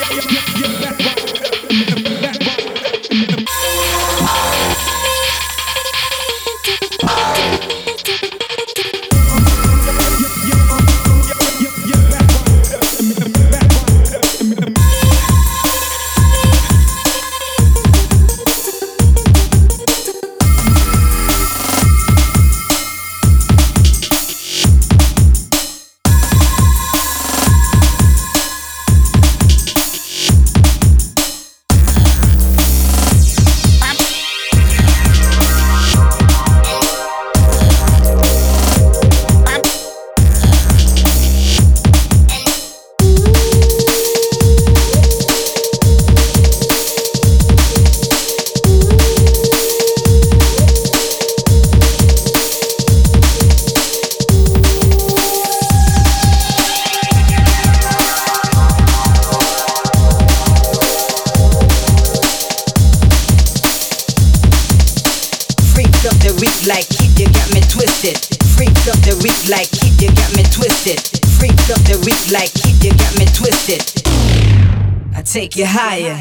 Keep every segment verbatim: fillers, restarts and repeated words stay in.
like keep you got me twisted. Freak of the week like keep you got me twisted. Freak of the week like keep you got me twisted. I take you higher.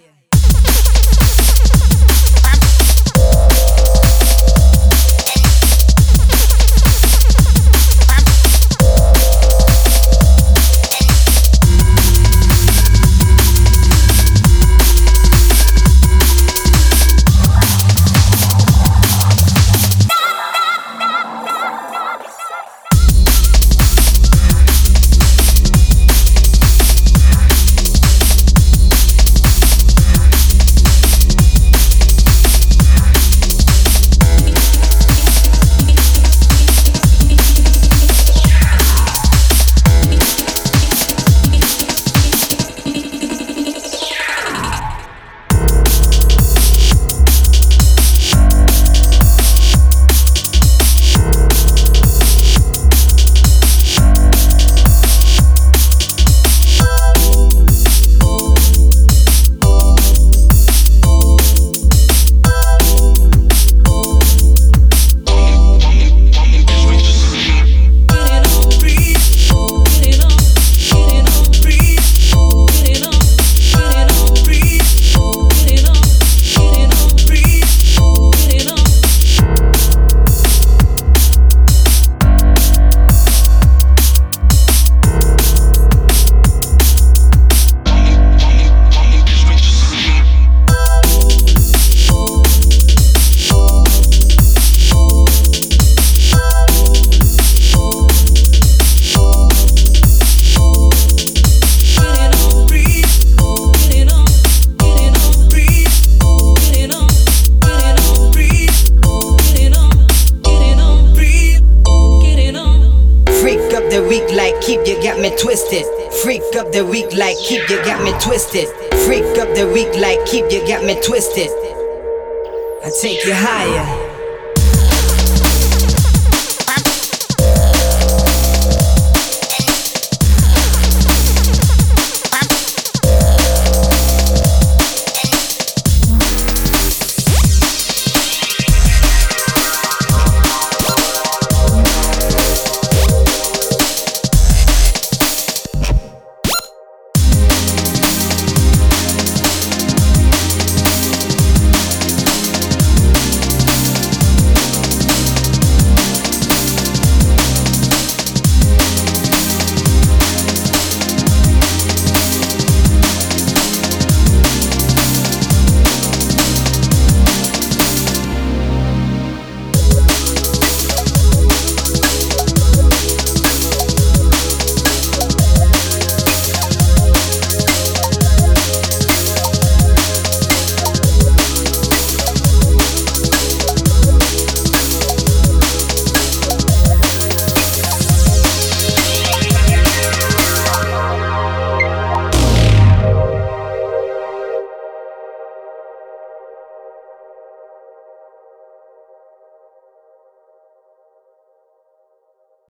Keep you got me twisted. Freak of the week like keep you got me twisted. Freak of the week like keep you got me twisted. I take you higher.